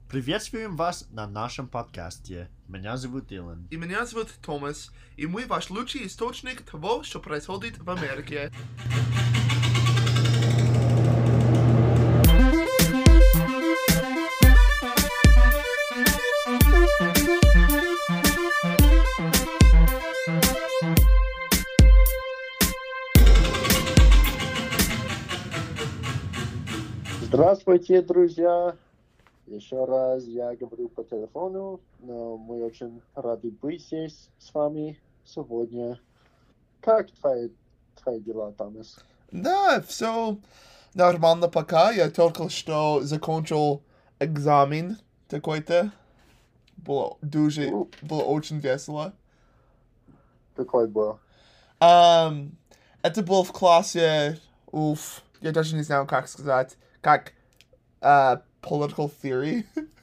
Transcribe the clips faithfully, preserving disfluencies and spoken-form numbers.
Приветствуем вас на нашем подкасте. Меня зовут Дилан. И меня зовут Томас, и мы ваш лучший источник того, что происходит в Америке. Здравствуйте, друзья! Еще раз я говорю по телефону, но мы очень рады быть здесь с вами сегодня. Как твои, твои дела, Томас? Да, все нормально пока. Я только что закончил экзамен такой-то. Было дуже, Ну, было очень весело. какой был? Um, это было в классе, уф, я даже не знаю, как сказать, как uh, political theory.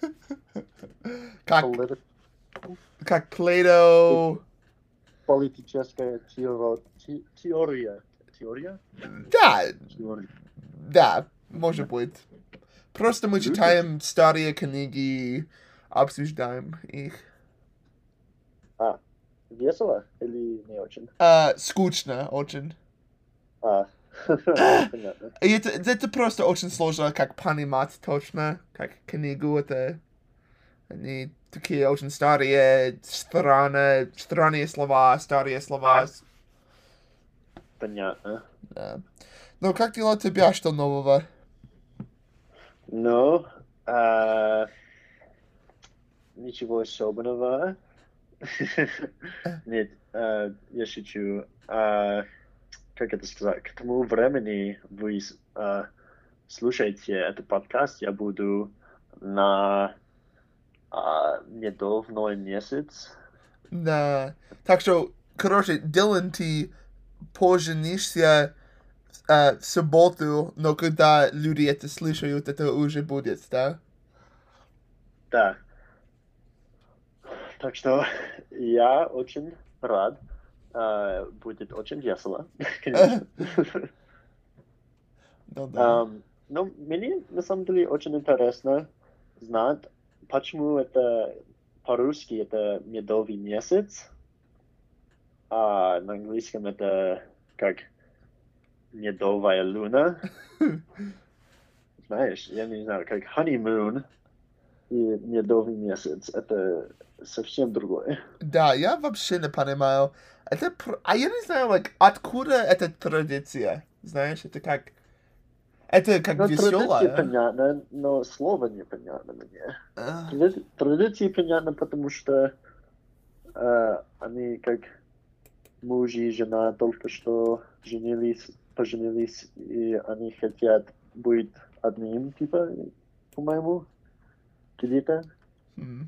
как, Полит- как Плейто. Политическая теоро- те- теория. Теория? Да, Теория. да, может быть. Просто мы читаем старые книги, обсуждаем их. А, весело или не очень? Uh, скучно очень. А, понятно. И это, это просто очень сложно, как понимать точно, как книгу это. Они такие очень старые, странные, странные слова, старые слова. Понятно. Да. Ну, как дела тебя, что нового? Ну, а, ничего особенного. Нет, а, я шучу. А, как это сказать? К тому времени вы а, слушаете этот подкаст, я буду на а, недавно месяц. Да. Так что, короче, Дилан, ты поженишься uh, в субботу, но когда люди это слышат, это уже будет, да? Да. Так что я очень рад. А, будет очень весело, конечно. Ну да. Um, но мне на самом деле очень интересно знать, почему это по-русски это медовый месяц, а на английском это как медовая луна. Знаешь, я не знаю, как honeymoon и медовый месяц. Это совсем другое. Да, я вообще не понимаю. Это, пр- а я не знаю, like, откуда эта традиция? Знаешь, это как... Это как Ну, традиция веселая. понятна, но слово непонятно мне. А, Тради- Традиции понятно, потому что э, они как муж и жена только что женились, поженились, и они хотят быть одним, типа, по-моему, где-то. м.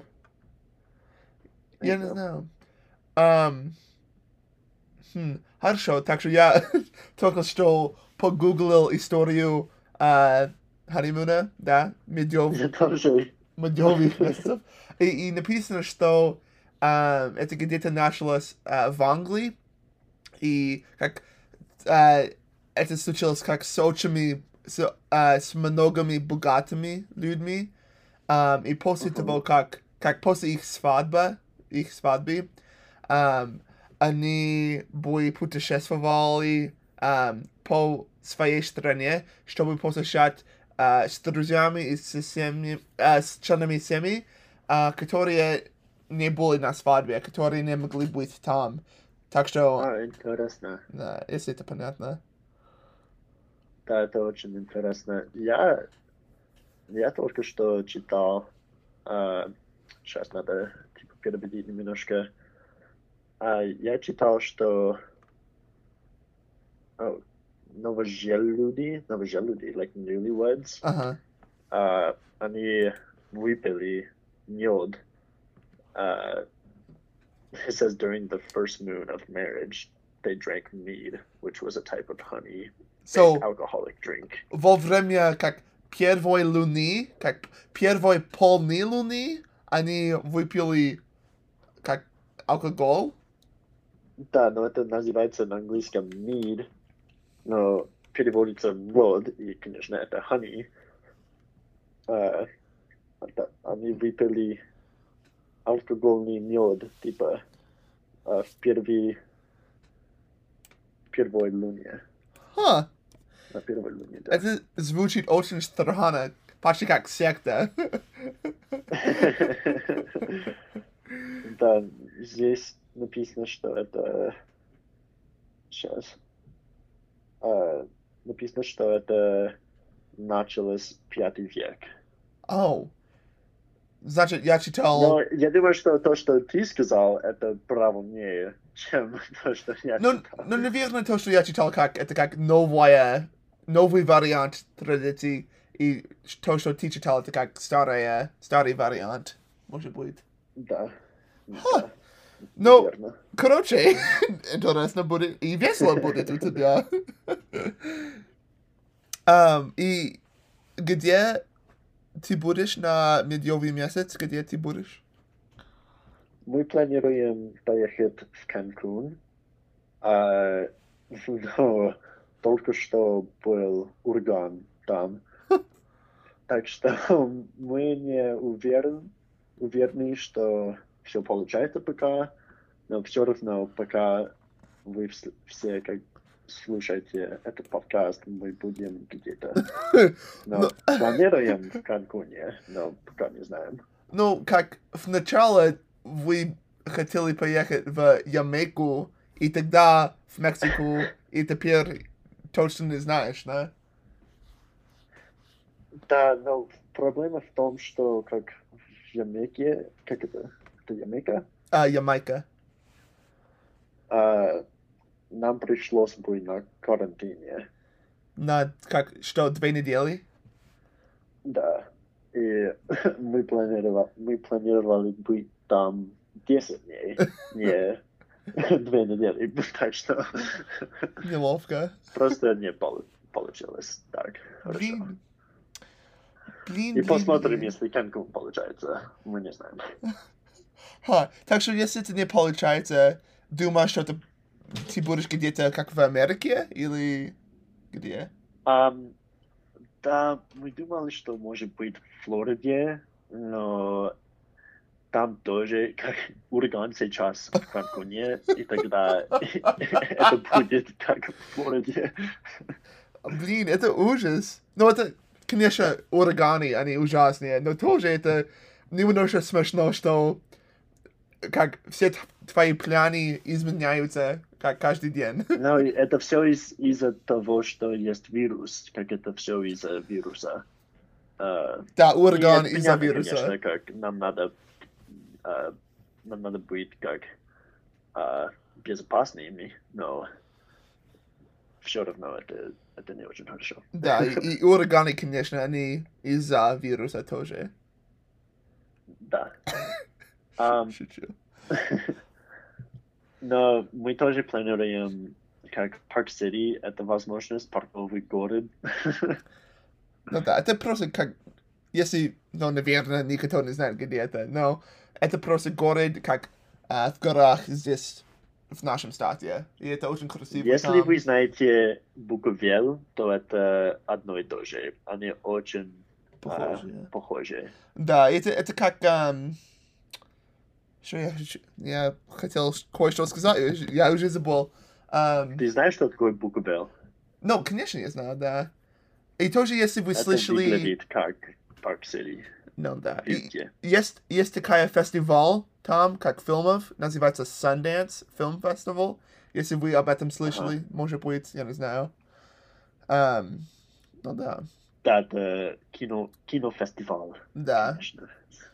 Я не знаю. Ам, хм, Хорошо, так что я только что погуглил историю а, ханимуна, да, медов, Я тоже. медовых месяцев. И, и написано, что а, это где-то началось а, в Англии, и как а, это случилось как с очень, с, а, с многими богатыми людьми. Ам, и после Мгм. того, как, как после их свадьбы, их свадьбы, ам, они были путешествовали ам, по своей стране, чтобы посещать а, с друзьями и с, семьи, а, с членами семьи, а, которые не были на свадьбе, которые не могли быть там. Так что, А, интересно. да, если это понятно. Да, это очень интересно. Я, я только что читал, а, сейчас надо типа переводить немножко. А, я читал, что oh, новожелюди, новожелюди, like newlyweds, Ага. а, они выпили мед. Uh, it says during the first moon of marriage, they drank mead, which was a type of honey So, alcoholic drink. во время как первой луны, как первой полной луны, они выпили как алкоголь. Да, но это называется на английском mead, но переводится мед, и, конечно, это honey. Uh, это, они выпили алкогольный мед, типа, а, в первой, первой луне. Ха, На первой луне, да. это звучит очень странно. Почти как секта. Да, здесь написано, что это... Сейчас. А, написано, что это началось пятый век. О. Значит, я читал... Но я думаю, что то, что ты сказал, это правильнее, чем то, что я Ну, читал. ну, наверное, то, что я читал, как, это как новая, новый вариант традиции, и то, что ты читал, это как старая, старый вариант, может быть. Да. Ха. Да. Ну, Верно. короче, интересно будет, и весело будет у тебя. um, и где ты будешь на медовый месяц? Где ты будешь? Мы планируем поехать в Канкун. А, но только что был ураган там. Так что мы не уверен, уверены, что все получается пока. Но все равно, пока вы вс- все как слушаете этот подкаст, мы будем где-то. Но Ну, планируем в Канкуне, но пока не знаем. ну, как в начале вы хотели поехать в Ямайку, и тогда в Мексику, и теперь точно не знаешь, да? Да, но проблема в том, что как в Ямайке, как это, это Ямайка, А, Ямайка. а, нам пришлось быть на карантине. На, как, что, две недели? Да. И мы планировали, мы планировали быть там десять дней, не две недели. Так что Неловко. просто не полу- получилось так хорошо. Блин. Блин, И блин, посмотрим, блин. если Канкун получается. Мы не знаем. Ха, так что если это не получается, думаешь, что ты, ты будешь где-то как в Америке или где? Ам, да, мы думали, что может быть в Флориде, но там тоже как ураган сейчас в Канкуне, и тогда это будет как в Флориде. Блин, это ужас. Ну, это, конечно, ураганы, они ужасные, но тоже это немножко смешно, что как все т- твои планы изменяются как каждый день. Но это все из- из-за того, что есть вирус, как это все из-за вируса. А, Да, и ураган это из-за понятно, вируса. конечно, как нам надо, а, нам надо быть как а, безопасными, но все равно это, это не очень хорошо. Да, и, и ураганы, конечно, они из-за вируса тоже. Да. Ам, Шучу. но мы тоже планируем, как Парк-Сити, это возможность, парковый город. Ну да, это просто как... Если, ну, наверное, никто не знает, где это, но это просто город, как а, в горах здесь, в нашем штате. И это очень красиво Если там. вы знаете Буковель, то это одно и то же. Они очень а, Похоже. похожи. Да, это, это как... ам, Что я, хочу- я хотел кое-что сказать, я уже забыл. Ам, Ты знаешь, что такое Буковель? Ну, конечно, я знаю, да. И тоже, если вы Это слышали... выглядит как Парк-Сити. Ну, да. И Везде. есть, есть такая фестиваль там, как фильмов, называется Sundance Film Festival. Если вы об этом слышали, может быть, я не знаю. Ам, ну да, Да, это кино, кинофестиваль, да. конечно.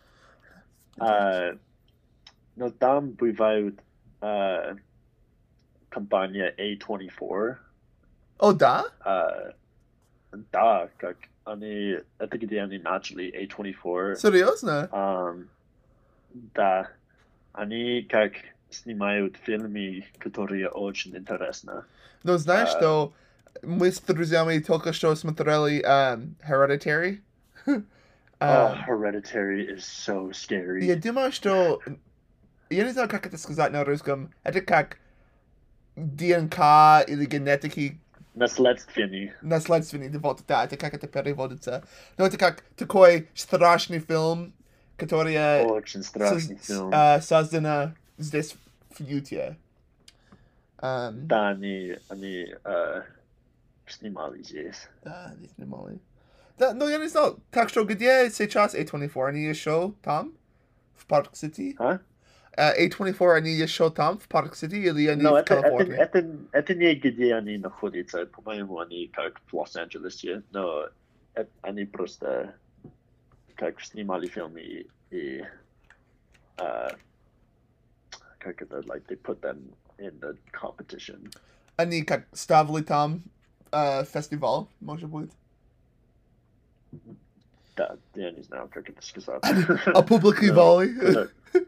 А, но там бывают а, компания A двадцать четыре. О, да? А, да, как они, это где они начали A двадцать четыре. Серьезно? Ам, да, они как снимают фильмы, которые очень интересны. Ну, знаешь, А. что мы с друзьями только что смотрели ам, Hereditary? Oh, Ам, Hereditary is so scary. Я думаю, что... Я не знаю, как это сказать на русском. Это как ДНК или генетики Наследственный. Наследственный, вот, да, это как это переводится. Но это как такой страшный фильм, который э, Очень страшный соз- фильм. э, создано здесь в Юте. Эм, Да, они, они э, снимали здесь. Да, не снимали. Да, ну я не знал. Так что где сейчас A двадцать четыре? Они еще там? В Парк-Сити? А? Uh, A двадцать четыре, они еще там, в Парк-Сити, или они Но в это, это, Калифорнии? это, это не где они находятся. По-моему, они как в Лос-Анджелесе. Но э- они просто как снимали фильмы и, и э, как это, like, they put them in the competition. Они как ставили там uh, фестиваль, может быть? Да, я не знаю, как это сказать. Опубликовали? Но,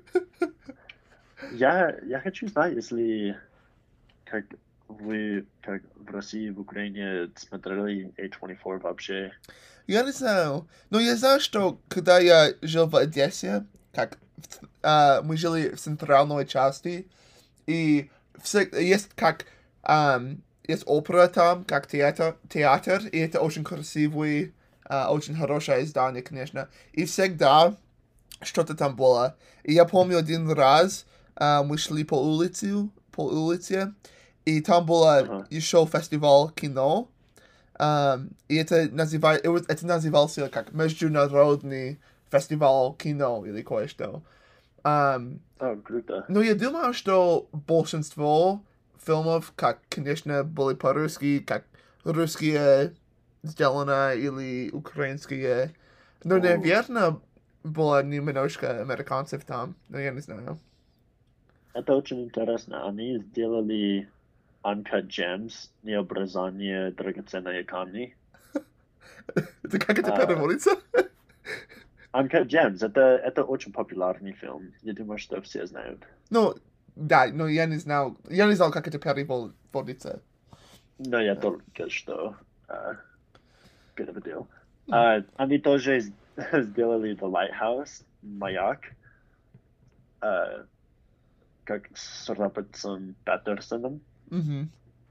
Я, я хочу знать, если как вы как в России, в Украине смотрели A двадцать четыре вообще. Я не знаю. Но я знаю, что когда я жил в Одессе, как uh, мы жили в центральной части, и все, есть как um, есть опера там, как театр, театр, и это очень красивый, uh, очень хорошее здание, конечно. И всегда что-то там было. И я помню один раз uh, мы шли по улице, по улице, и там было Ага. еще фестиваль кино. Um, и это, называй, это назывался как Международный фестиваль кино или кое-что. Um, О, круто. но я думаю, что большинство фильмов, как, конечно, были по-русски, как русские сделаны или украинские. Но, О. наверное, было немножко американцев там, но я не знаю. Это очень интересно. Они сделали Uncut Gems, необрезание драгоценные камни. Это как это А. переводится? Uncut Gems, это, это очень популярный фильм. Я думаю, что все знают. Ну, да, но я не знал, я не знал, как это переводится. Но я только что а, переводил. А, они тоже с- сделали The Lighthouse, Маяк, а, как с Робертом Паттерсоном. Мгм.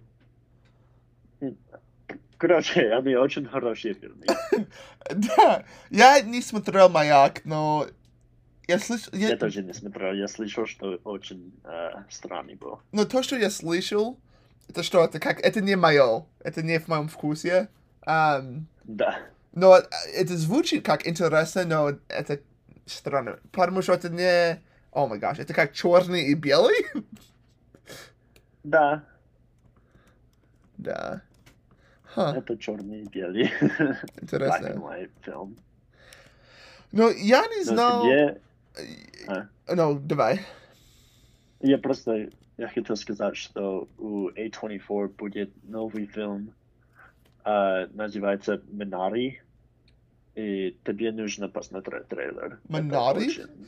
Короче, они очень хорошие фильмы. Да, я не смотрел «Маяк», но я слышал... Я тоже не смотрел, я слышал, что очень а, странный был. Но то, что я слышал, это что, это как... Это не мое, это не в моем вкусе. Ам, Да. но это звучит как интересно, но это странно. Потому что это не... О май гаш, это как черный и белый? Да, Да. Ха, это черный и белый. Black and интересно. white film. Но я не Но знал... тебе... А, Ну, давай. я просто... Я хотел сказать, что у A двадцать четыре будет новый фильм, а, называется «Минари», и тебе нужно посмотреть трейлер. «Минари»? Это очень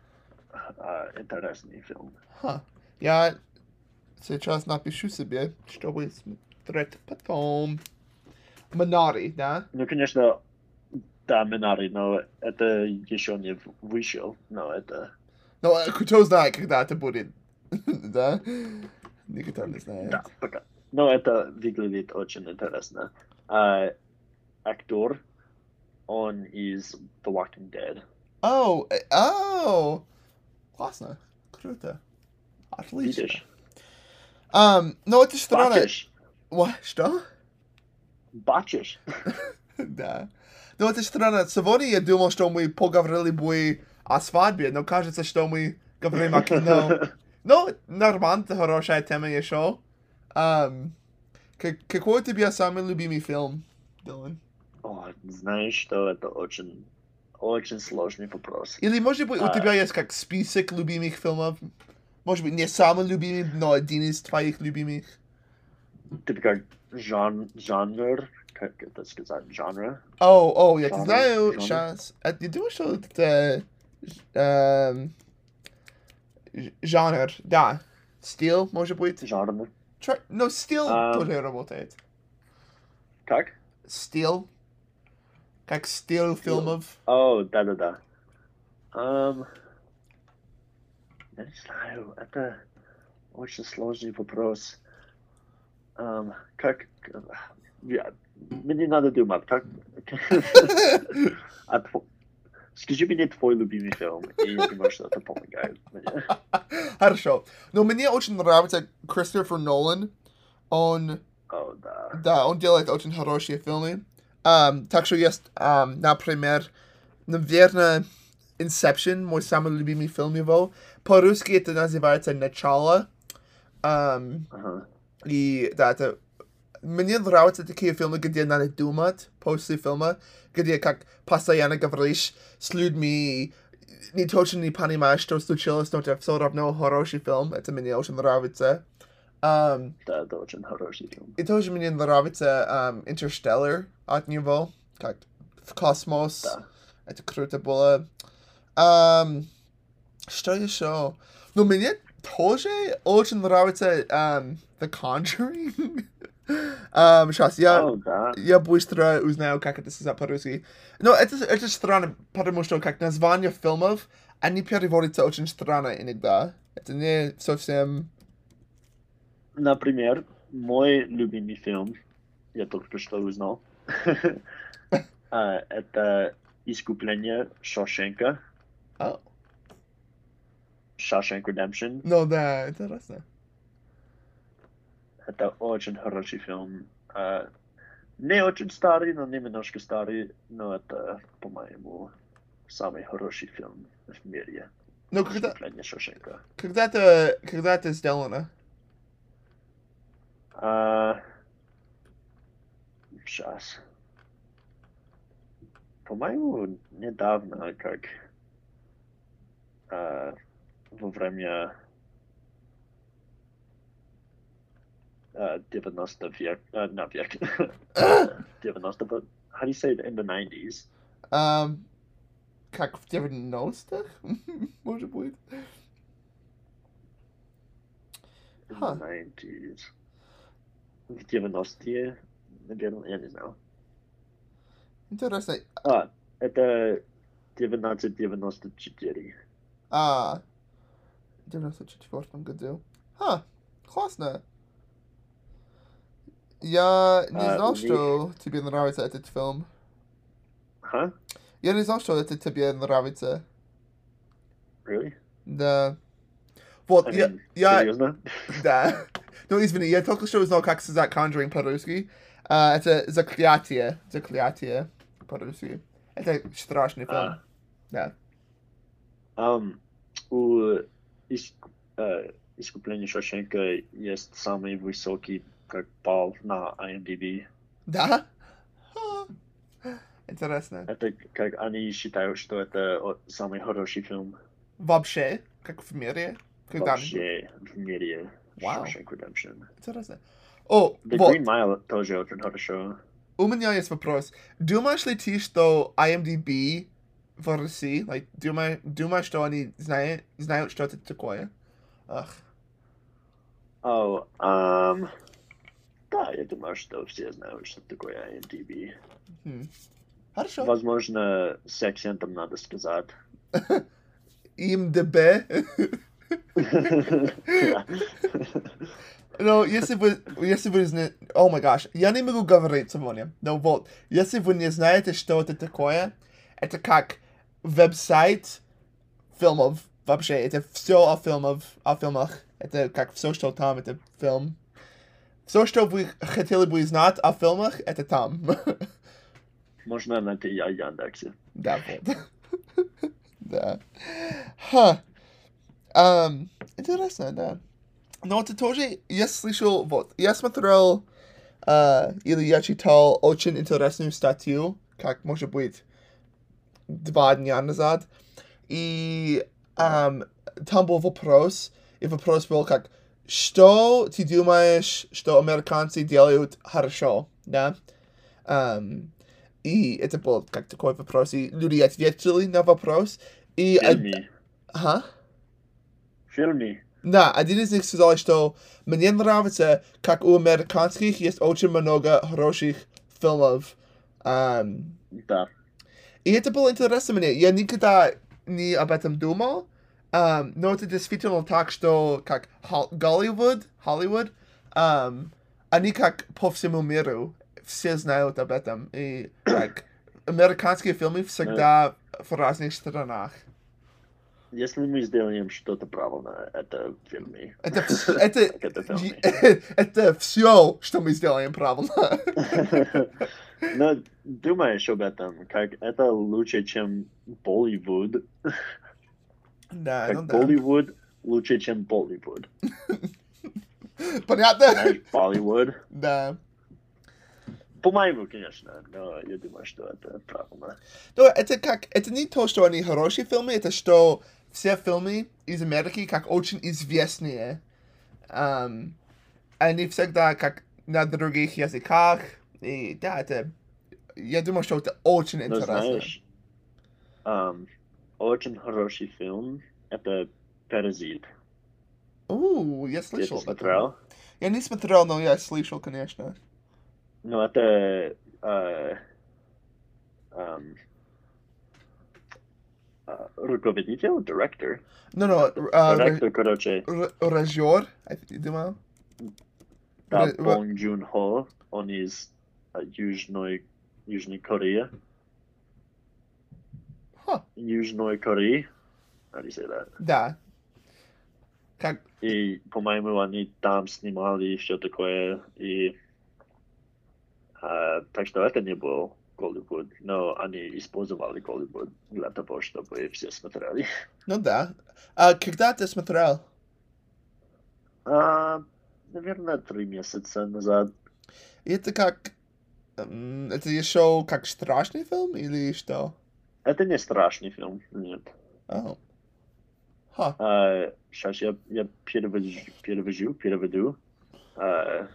а, интересный фильм. Ха. Я сейчас напишу себе, чтобы смотреть потом. Минари, да? Ну, конечно, да, «Минари», но это еще не в- вышел, но это... Но э, кто знает, когда это будет. Да? Никто не знает. Да, пока. Но это выглядит очень интересно. А, актер, он из The Walking Dead. О, э, о! Классно. Круто. Отлично. Видишь? Um, но это странно. Бачишь? Ва- Что? Бачишь? Да. Но это странно. Сегодня я думал, что мы поговорили бы о свадьбе, но кажется, что мы говорим о кино. Ну, нормально, это хорошая тема еще. Um, к- какой у тебя самый любимый фильм, Дилан? О, знаешь, что это очень, очень сложный вопрос. Или, может быть, у А. тебя есть как список любимых фильмов? Может быть, не самый любимый, но один из твоих любимых? Типа как жан, жанр, как это сказать, жанр? О, о, я Жанр, знаю, жанр. сейчас. Я думаю, что это... эм, ж- жанр, да. Стиль, может быть? Жанр. Тр- Но стиль Ам. тоже работает. Как? Стиль. Как стиль фильмов. О, да-да-да. Um, я не знаю, это очень сложный вопрос. Um, как... Я... Мне надо думать, как... а тво... Скажи мне твой любимый фильм, и я думаю, что это помогает мне. Хорошо. Но мне очень нравится Кристофер Нолан. Он... О, да. Да, он делает очень хорошие фильмы. Um, так что есть, um, например, наверное, Inception, мой самый любимый фильм его. По-русски это называется «Начало». Um, Ага. и да, это... Мне нравятся такие фильмы, где надо думать после фильма, где как постоянно говоришь с людьми, не точно не понимаешь, что случилось, но это все равно хороший фильм. Это мне очень нравится. Um, Да, это очень хороший фильм. и тоже мне нравится um, Interstellar от него, как в космос. Да. Это круто было. Um, что еще? Ну, мне тоже очень нравится um, The Conjuring. um, сейчас, я, О, да. я быстро узнаю, как это сказать по-русски. Но это, это странно, потому что как название фильмов, они переводятся очень странно иногда. Это не совсем... Например, мой любимый фильм, я только что узнал, а, это «Искупление Шошенка», Oh. Shawshank Redemption. Ну да, интересно. Это очень хороший фильм. А, не очень старый, но немножко старый, но это, по-моему, самый хороший фильм в мире. Ну, когда, «Искупление Шошенка». когда, это, когда это сделано? А, сейчас. По-моему, недавно, как а, во время а, девяностого век, а, на век, девяностого, how do you say it, in the nineties? Um, как в девяностых? Может быть. In Huh. the nineties. В девяностые, наверное, я не знаю. Интересно. А, это девятнадцать девяносто четыре. А, в девяносто четвёртом году. Ха, классно. Я не А, знал, у них- что тебе нравится этот фильм. Huh? Я не знал, что это тебе нравится. Really? Да. Вот, I я, mean, я, серьезно? да. Ну, извини, я только что узнал, как сказать Conjuring по-русски. А, это заклятие. Заклятие по-русски. Это страшный фильм. А. Да. Um, у иск- э, «Искупления Шошенка» есть самый высокий как балл на IMDb. Да? Ха. Интересно. Это как они считают, что это о- самый хороший фильм Вообще, как в мире. Когда-нибудь. вообще в мире. Вау. Shawshank Redemption. Интересно. О, The вот. Green Mile тоже очень хорошо. У меня есть вопрос. Думаешь ли ты, что IMDb в России, like, думаешь, думаешь, что они знают, знают, что это такое? Ах. О, um, да, я думаю, что все знают, что такое IMDb. Хм. Хорошо. Возможно, с акцентом надо сказать. IMDb. Но если вы, если вы знаете... О май гаш, я не могу говорить сегодня. Но вот, если вы не знаете, что это такое, это как веб-сайт фильмов. Вообще, это все о фильмах, о фильмах. Это как все, что там, это фильм. Все, что вы хотели бы знать о фильмах, это там. Можно найти о Яндексе. Да, вот. Да. Ха. Ам, Интересно, да. Но это тоже, я слышал, вот, я смотрел, а, или я читал очень интересную статью, как, может быть, два дня назад, и ам, там был вопрос, и вопрос был как, что ты думаешь, что американцы делают хорошо, да? Ам, и это был как такой вопрос, и люди ответили на вопрос, и... од- Фильми. Ага. Фильми. Да, один из них сказал, что мне нравится, как у американских есть очень много хороших фильмов. Ам, Да. и это было интересно мне. Я никогда не об этом думал. Ам, но это действительно так, что как Хол- Голливуд, Холливуд, ам, они как по всему миру все знают об этом. И как американские фильмы всегда в разных странах. Если мы сделаем что-то правильно, это в фильме. Это, вс- это, Как это в фильме. это все, что мы сделаем правильно. Но думаешь об этом, как это лучше, чем Болливуд. Да, ну Как да. Болливуд лучше, чем Болливуд. Понятно? Знаешь, Болливуд. Да. По-моему, конечно, но я думаю, что это правильно. Но это как, это не то, что они хорошие фильмы, это что все фильмы из Америки как очень известные. Um, они всегда как на других языках. И да, это... Я думаю, что это очень Но интересно. знаешь, um, очень хороший фильм — это «Паразит». У, я Ты слышал это об этом. смотрел? Я не смотрел, но я слышал, конечно. Ну, это э, эм, э, руководитель, директор. Ну, ну, а, ре- Директор, короче, ре- режиссер, я думаю. да, Ре- ре- Бонг Джун Хо, он из э, Южной, Южной Кореи. Ха, Южной Кореи. How do you say that? да. Как... И, по-моему, они там снимали все такое. И э, так что это не был Голливуд, но они использовали Голливуд для того, чтобы все смотрели. Ну да. А когда ты смотрел? А, наверное, три месяца назад. И это как... м, Это еще как страшный фильм или что? Это не страшный фильм, нет. О. Ха. А, сейчас я, я перевожу, перевожу, переведу. А,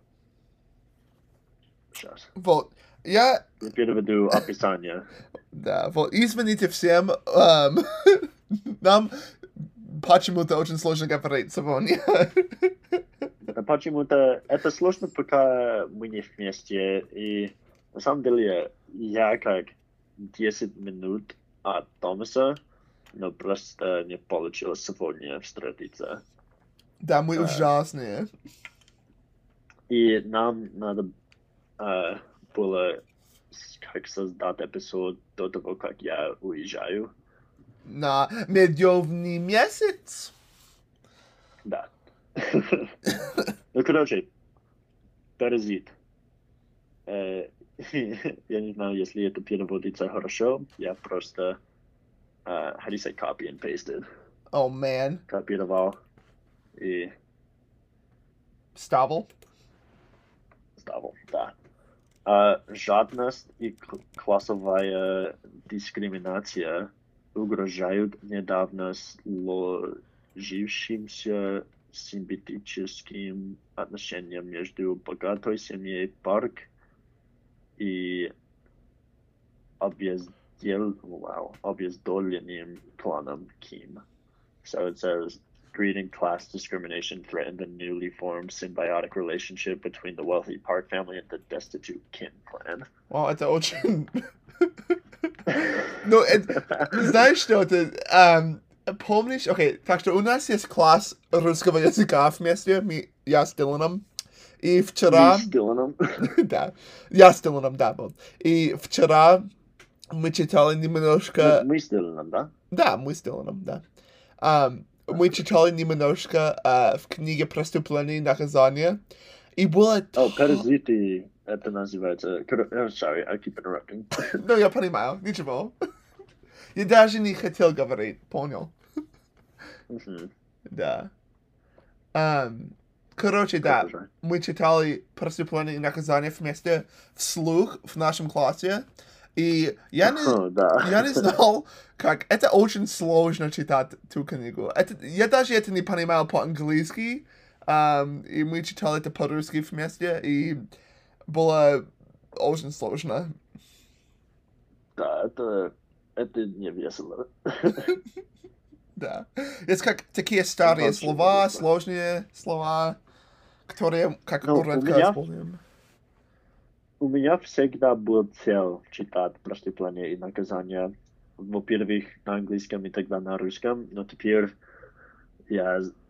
сейчас. Вот. Я... Я переведу описание. Да, вот. Извините всем. эм, Нам почему-то очень сложно говорить сегодня. А почему-то это сложно, пока мы не вместе. И на самом деле я как десять минут от Томаса, но просто не получилось сегодня встретиться. Да, мы Да. ужасные. И нам надо э, было с- как создать эпизод до того, как я уезжаю. На медовый месяц. Да. Ну, короче, «Паразит». Э, Я не знаю, если это переводится хорошо. Я просто, э, how do you say, copy and pasted. О, man. Копировал и Ставил. ставил, да. А, жадность и к- классовая дискриминация угрожают недавно сложившимся симбиотическим отношениям между богатой семьей Парк и объездел, wow, объездоленным кланом Ким. So it says, greeting class discrimination threatened the newly formed symbiotic relationship between the wealthy Park family and the destitute Kim clan. О, это очень... Ну, это... Знаешь что, это... эм, Помнишь? Окей, так что у нас есть класс русского языка вместе. Мы- Я с Диланом. И вчера... Me stealing them. Да. Я с Диланом, да, вот. И вчера мы читали немножко... Мы stealing them, да? Да, мы с Диланом, да. Ам, мы читали немножко а, в книге «Преступление и наказание». И было... О, то- «Паразиты» это называется... Кор- oh, sorry, I keep interrupting. Ну, я понимаю, ничего. Я даже не хотел говорить, понял. Мгм. Да. Ам, короче, да, Продолжай. мы читали «Преступление и наказание» вместе вслух в нашем классе. И я не... О, да. Я не знал, как... Это очень сложно читать ту книгу. Это, я даже это не понимал по-английски. Ам, и мы читали это по-русски вместе, и было очень сложно. Да, это... Это не весело. Да. Есть как такие старые Вообще слова, весело. сложные слова, которые как Ну, у редко меня- используем. У меня всегда был цель читать «Преступление и наказание». Во-первых, на английском и тогда на русском, но теперь я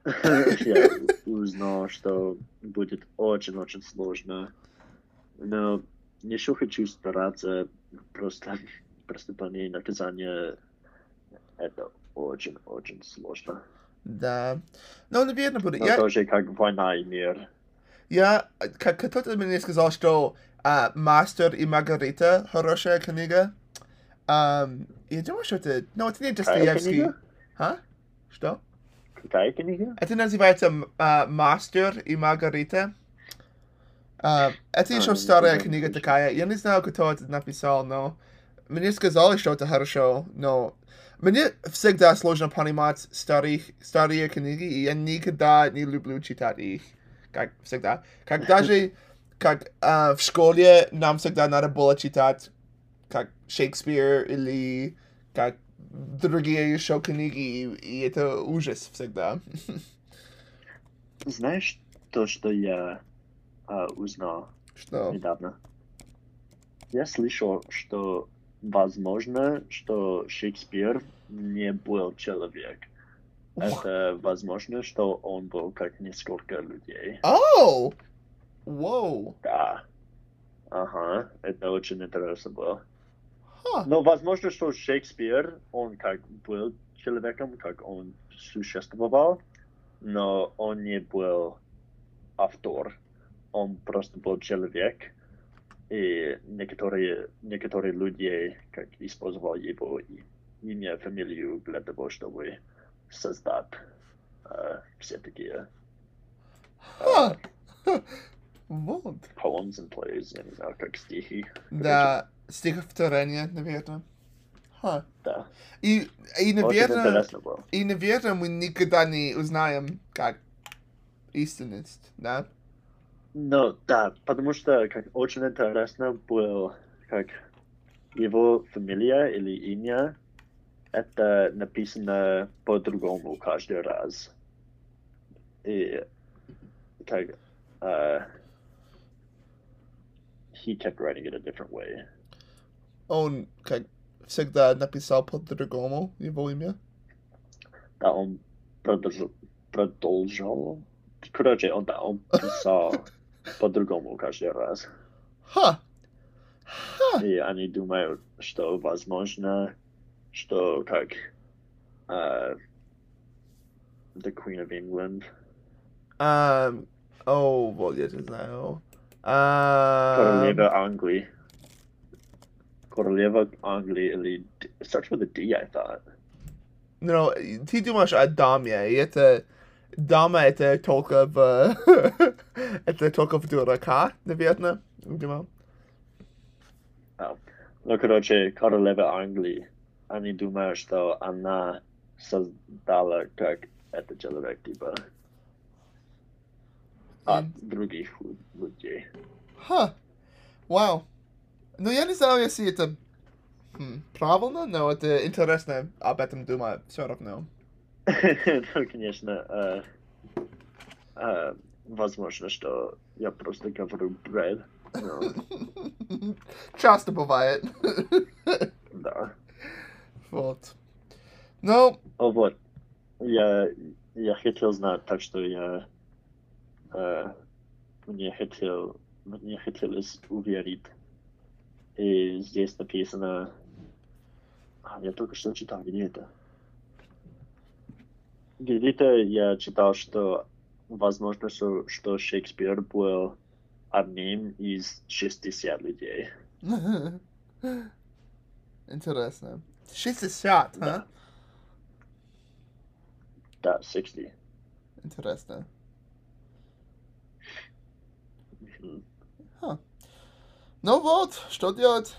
Я узнал, что будет очень-очень сложно. Но еще хочу стараться. Просто преступление и наказание это очень-очень сложно. Да. Но, наверное, будет. Но Я, тоже как война и мир. я, как кто-то мне сказал, что а, «Мастер и Маргарита» хорошая книга. Ам, я думаю, что это... Ну, это не Какая Достоевский. книга? А? Что? Какая книга? Это называется а, «Мастер и Маргарита». А, это А, еще я старая никогда не книга слышал. такая. Я не знаю, кто это написал, но... Мне сказали, что это хорошо, но... Мне всегда сложно понимать старых, старые книги, и я никогда не люблю читать их. Как всегда. Как даже... Как а, в школе нам всегда надо было читать как Шекспир или как другие еще книги, и, и это ужас всегда. Знаешь то, что я а, узнал Что? недавно? Я слышал, что возможно, что Шекспир не был человек. Это возможно, что он был как несколько людей. Оу! Воу! Да. Ага, это очень интересно было. Ха! Но возможно, что Шекспир, он как был человеком, как он существовал, но он не был автор. Он просто был человек, и некоторые, некоторые люди как использовали его и- имя, фамилию для того, чтобы создать э, все такие Ха! Вот. poems and plays, я не знаю, как стихи. Да, стихотворение, наверное. Ха. Да. И, и, Очень наверное, интересно было. и, наверное, мы никогда не узнаем, как истинность, да? Ну, да, потому что как очень интересно было, как его фамилия или имя, это написано по-другому каждый раз. И как uh, he kept writing it a different way. Он как всегда написал по-другому его имя. Да, он продолжал, продолжал. Короче, он, да, он писал по-другому каждый раз. Ха! Ха! И они думают, что возможно, что как uh, the Queen of England, Um, о, вот я не знаю. Um, Королева Англии. Королева Англии или... D- It starts with a D, I thought. ну, ты думаешь о даме, и это... Дама это только в... это только в дурака, наверное, думал. Oh. Ну, короче, королева Англии. Они думают, что она создала как этот человек, типа, от других лю- людей. Ха! Вау. Ну, я не знаю, если это хм, правильно, но это интересно об этом думать все равно. Ну, конечно, э, э, возможно, что я просто говорю бред. Но, Часто бывает. да. Вот. Ну, О, вот. Я, я хотел знать, так что я э, мне хотел мне хотелось уверить. И здесь написано... А, я только что читал, где это? Где-то я читал, что возможно, что, что Шекспир был одним из шестидесяти людей. интересно. шестьдесят, а? Да. Да, шестьдесят. Интересно. Мгм. Ну вот, что делать?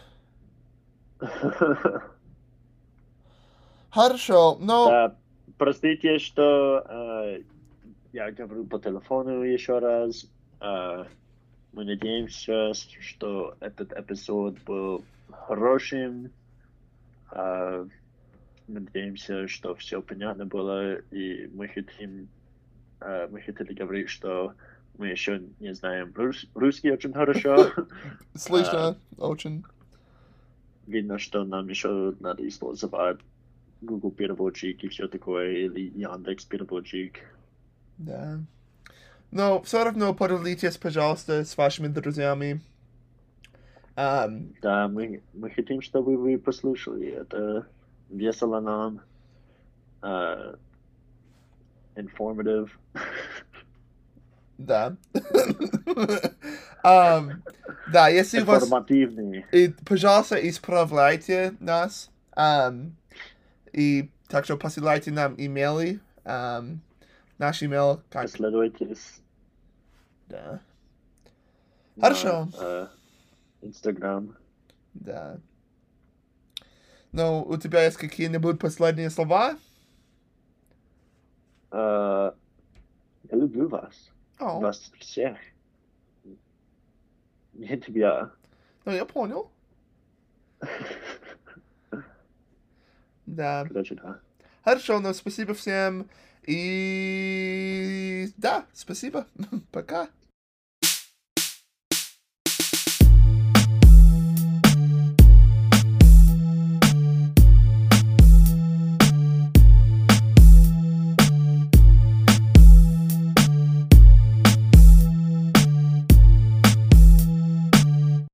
Хорошо, но... Да, простите, что э, я говорю по телефону еще раз. Э, мы надеемся, что этот эпизод был хорошим. Э, надеемся, что все понятно было, и мы хотим, э, мы хотели говорить, что мы еще не знаем рус- русский очень хорошо. Слышно, очень. Видно, что нам еще надо использовать Google переводчик и все такое, или Яндекс переводчик. Да. Но все равно поделитесь, пожалуйста, с вашими друзьями. Ам, Да, мы, мы хотим, чтобы вы послушали. Это весело нам. Uh, informative. да. Ам, да, если у вас... Информативный. И, пожалуйста, исправляйте нас. Ам, и также посылайте нам имейлы. Ам, наш имейл как... Последуйтесь Да. на Хорошо. э, Instagram. Да. Ну, у тебя есть какие-нибудь последние слова? Э, Я люблю вас. О, Вас всех. Не тебя. ну я понял. Да. Короче, да. Хорошо, ну спасибо всем. И да, спасибо. Пока.